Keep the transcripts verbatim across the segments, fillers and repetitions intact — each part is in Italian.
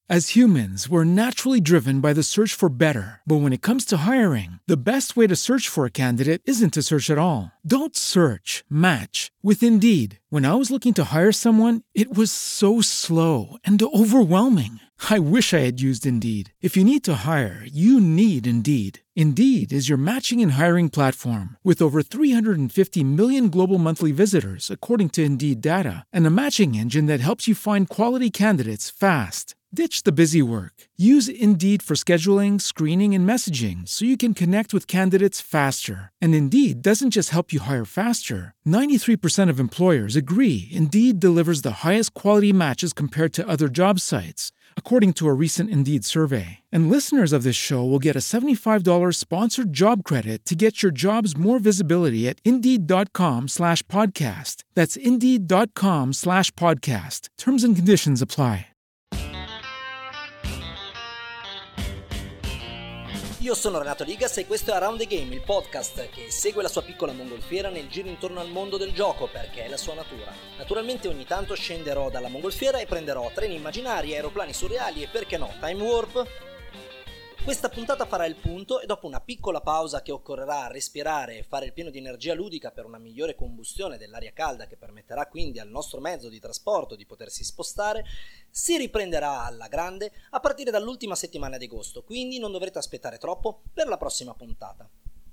As humans, we're naturally driven by the search for better. But when it comes to hiring, the best way to search for a candidate isn't to search at all. Don't search, match with Indeed. When I was looking to hire someone, it was so slow and overwhelming. I wish I had used Indeed. If you need to hire, you need Indeed. Indeed is your matching and hiring platform with over three hundred fifty million global monthly visitors, according to Indeed data, and a matching engine that helps you find quality candidates fast. Ditch the busy work. Use Indeed for scheduling, screening, and messaging so you can connect with candidates faster. And Indeed doesn't just help you hire faster. ninety-three percent of employers agree Indeed delivers the highest quality matches compared to other job sites, according to a recent Indeed survey. And listeners of this show will get a seventy-five dollars sponsored job credit to get your jobs more visibility at Indeed.com slash podcast. That's Indeed.com slash podcast. Terms and conditions apply. Io sono Renato Ligas e questo è Around the Game, il podcast che segue la sua piccola mongolfiera nel giro intorno al mondo del gioco, perché è la sua natura. Naturalmente ogni tanto scenderò dalla mongolfiera e prenderò treni immaginari, aeroplani surreali e perché no, time warp. Questa puntata farà il punto e dopo una piccola pausa che occorrerà respirare e fare il pieno di energia ludica per una migliore combustione dell'aria calda che permetterà quindi al nostro mezzo di trasporto di potersi spostare, si riprenderà alla grande a partire dall'ultima settimana di agosto, quindi non dovrete aspettare troppo per la prossima puntata.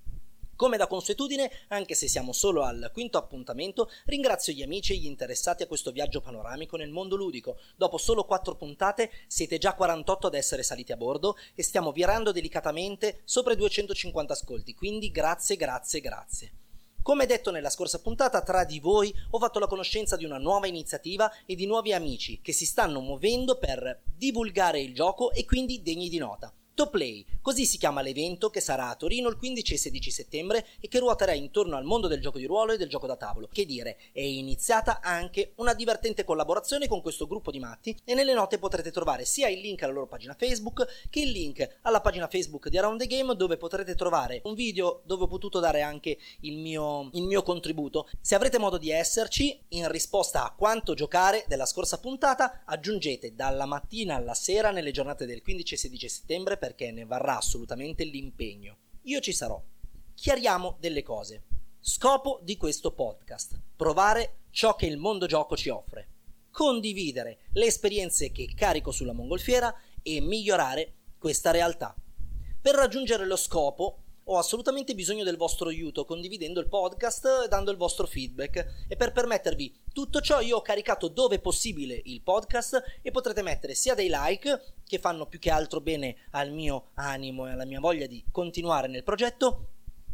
Come da consuetudine, anche se siamo solo al quinto appuntamento, ringrazio gli amici e gli interessati a questo viaggio panoramico nel mondo ludico. Dopo solo quattro puntate siete già quarantotto ad essere saliti a bordo e stiamo virando delicatamente sopra i duecentocinquanta ascolti, quindi grazie, grazie, grazie. Come detto nella scorsa puntata, tra di voi ho fatto la conoscenza di una nuova iniziativa e di nuovi amici che si stanno muovendo per divulgare il gioco e quindi degni di nota. Toplay, così si chiama l'evento che sarà a Torino il quindici e sedici settembre e che ruoterà intorno al mondo del gioco di ruolo e del gioco da tavolo. Che dire, è iniziata anche una divertente collaborazione con questo gruppo di matti e nelle note potrete trovare sia il link alla loro pagina Facebook che il link alla pagina Facebook di Around the Game, dove potrete trovare un video dove ho potuto dare anche il mio, il mio contributo. Se avrete modo di esserci, in risposta a quanto giocare della scorsa puntata, aggiungete dalla mattina alla sera nelle giornate del quindici e sedici settembre, perché ne varrà assolutamente l'impegno. Io ci sarò. Chiariamo delle cose. Scopo di questo podcast: provare ciò che il mondo gioco ci offre, condividere le esperienze che carico sulla mongolfiera e migliorare questa realtà. Per raggiungere lo scopo ho assolutamente bisogno del vostro aiuto, condividendo il podcast e dando il vostro feedback, e per permettervi tutto ciò io ho caricato dove possibile il podcast e potrete mettere sia dei like, che fanno più che altro bene al mio animo e alla mia voglia di continuare nel progetto,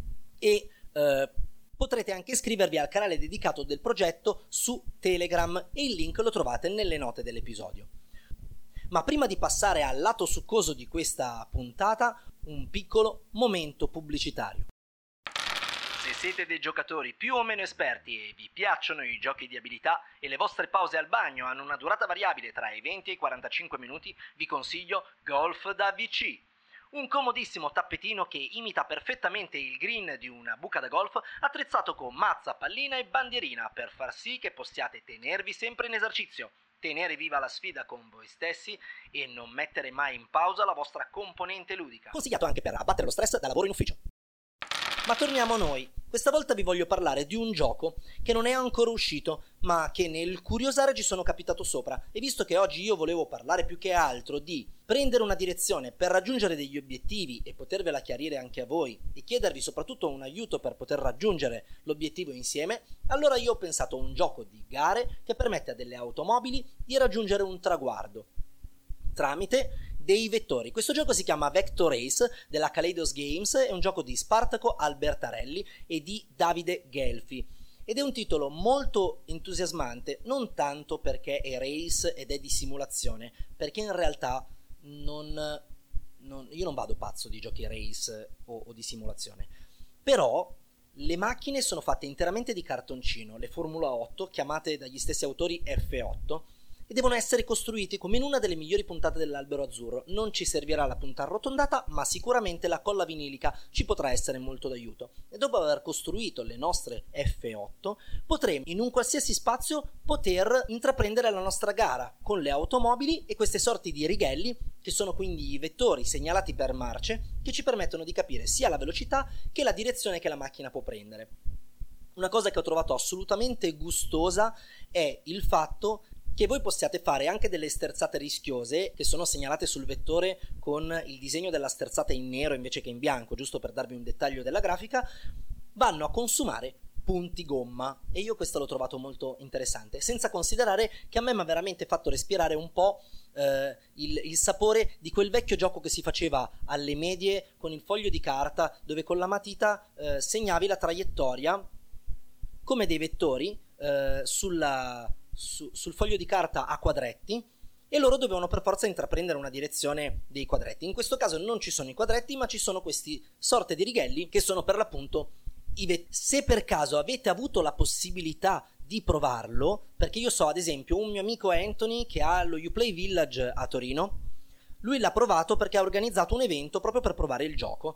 e eh, potrete anche iscrivervi al canale dedicato del progetto su Telegram e il link lo trovate nelle note dell'episodio. Ma prima di passare al lato succoso di questa puntata, un piccolo momento pubblicitario. Se siete dei giocatori più o meno esperti e vi piacciono i giochi di abilità e le vostre pause al bagno hanno una durata variabile tra i venti e i quarantacinque minuti, vi consiglio Golf da V C. Un comodissimo tappetino che imita perfettamente il green di una buca da golf, attrezzato con mazza, pallina e bandierina per far sì che possiate tenervi sempre in esercizio, tenere viva la sfida con voi stessi e non mettere mai in pausa la vostra componente ludica. Consigliato anche per abbattere lo stress da lavoro in ufficio. Ma torniamo a noi. Questa volta vi voglio parlare di un gioco che non è ancora uscito, ma che nel curiosare ci sono capitato sopra, e visto che oggi io volevo parlare più che altro di prendere una direzione per raggiungere degli obiettivi e potervela chiarire anche a voi e chiedervi soprattutto un aiuto per poter raggiungere l'obiettivo insieme, allora io ho pensato a un gioco di gare che permette a delle automobili di raggiungere un traguardo tramite dei vettori. Questo gioco si chiama Vector Race della Kaleidos Games, è un gioco di Spartaco Albertarelli e di Davide Gelfi ed è un titolo molto entusiasmante, non tanto perché è race ed è di simulazione, perché in realtà non, non io non vado pazzo di giochi race o, o di simulazione, però le macchine sono fatte interamente di cartoncino, le Formula otto chiamate dagli stessi autori F otto, e devono essere costruiti come in una delle migliori puntate dell'Albero Azzurro. Non ci servirà la punta arrotondata, ma sicuramente la colla vinilica ci potrà essere molto d'aiuto. E dopo aver costruito le nostre F otto, potremo in un qualsiasi spazio poter intraprendere la nostra gara con le automobili e queste sorti di righelli, che sono quindi i vettori segnalati per marce, che ci permettono di capire sia la velocità che la direzione che la macchina può prendere. Una cosa che ho trovato assolutamente gustosa è il fatto che voi possiate fare anche delle sterzate rischiose che sono segnalate sul vettore con il disegno della sterzata in nero invece che in bianco, giusto per darvi un dettaglio della grafica, vanno a consumare punti gomma, e io questo l'ho trovato molto interessante, senza considerare che a me mi ha veramente fatto respirare un po' eh, il, il sapore di quel vecchio gioco che si faceva alle medie con il foglio di carta, dove con la matita eh, segnavi la traiettoria come dei vettori eh, sulla Su, sul foglio di carta a quadretti, e loro dovevano per forza intraprendere una direzione dei quadretti. In questo caso non ci sono i quadretti, ma ci sono questi sorte di righelli che sono per l'appunto i vettori. Se per caso avete avuto la possibilità di provarlo, perché io so ad esempio un mio amico Anthony che ha lo Uplay Village a Torino, lui l'ha provato perché ha organizzato un evento proprio per provare il gioco,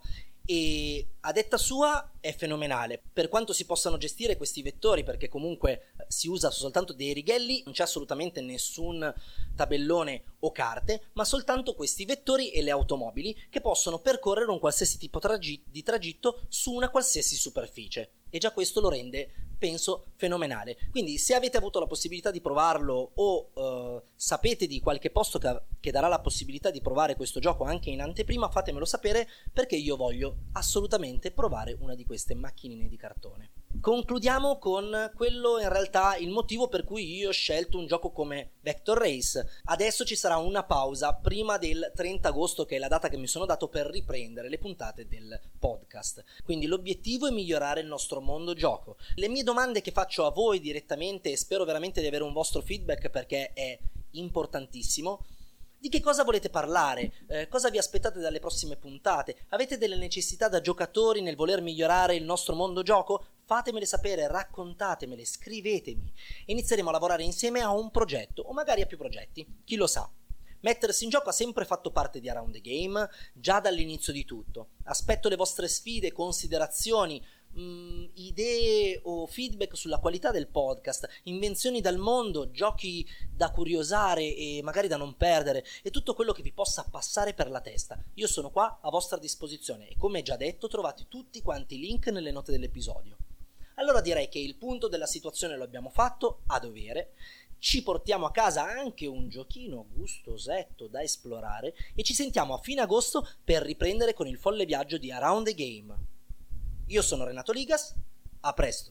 e a detta sua è fenomenale per quanto si possano gestire questi vettori, perché comunque si usa soltanto dei righelli, non c'è assolutamente nessun tabellone o carte, ma soltanto questi vettori e le automobili che possono percorrere un qualsiasi tipo tragi- di tragitto su una qualsiasi superficie, e già questo lo rende, penso, fenomenale. Quindi se avete avuto la possibilità di provarlo o uh, sapete di qualche posto che, che darà la possibilità di provare questo gioco anche in anteprima, fatemelo sapere, perché io voglio assolutamente provare una di queste macchinine di cartone. Concludiamo con quello, in realtà, il motivo per cui io ho scelto un gioco come Vector Race. Adesso ci sarà una pausa prima del trenta agosto, che è la data che mi sono dato per riprendere le puntate del podcast. Quindi l'obiettivo è migliorare il nostro mondo gioco. Le mie domande che faccio a voi direttamente, e spero veramente di avere un vostro feedback perché è importantissimo: di che cosa volete parlare? Eh, cosa vi aspettate dalle prossime puntate? Avete delle necessità da giocatori nel voler migliorare il nostro mondo gioco? Fatemele sapere, raccontatemele, scrivetemi. Inizieremo a lavorare insieme a un progetto, o magari a più progetti, chi lo sa. Mettersi in gioco ha sempre fatto parte di Around the Game, già dall'inizio di tutto. Aspetto le vostre sfide, considerazioni, mh, idee o feedback sulla qualità del podcast, invenzioni dal mondo, giochi da curiosare e magari da non perdere, e tutto quello che vi possa passare per la testa. Io sono qua a vostra disposizione e, come già detto, trovate tutti quanti i link nelle note dell'episodio. Allora direi che il punto della situazione lo abbiamo fatto a dovere. Ci portiamo a casa anche un giochino gustosetto da esplorare e ci sentiamo a fine agosto per riprendere con il folle viaggio di Around the Game. Io sono Renato Ligas, a presto!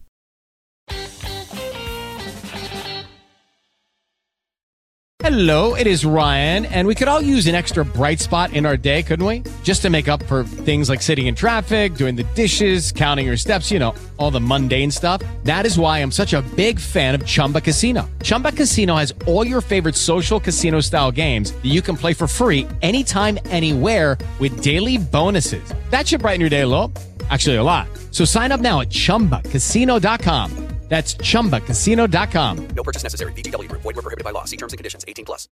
Hello, it is Ryan, and we could all use an extra bright spot in our day, couldn't we? Just to make up for things like sitting in traffic, doing the dishes, counting your steps, you know, all the mundane stuff. That is why I'm such a big fan of Chumba Casino. Chumba Casino has all your favorite social casino-style games that you can play for free anytime, anywhere with daily bonuses. That should brighten your day a little. Actually, a lot. So sign up now at chumba casino dot com. That's chumba casino dot com. No purchase necessary. V G W Group. Void where prohibited by law. See terms and conditions. eighteen plus.